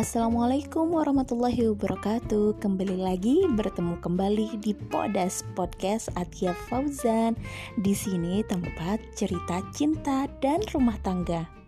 Assalamualaikum warahmatullahi wabarakatuh. Kembali lagi bertemu kembali di Podas Podcast Atia Fauzan. Di sini tempat cerita cinta dan rumah tangga.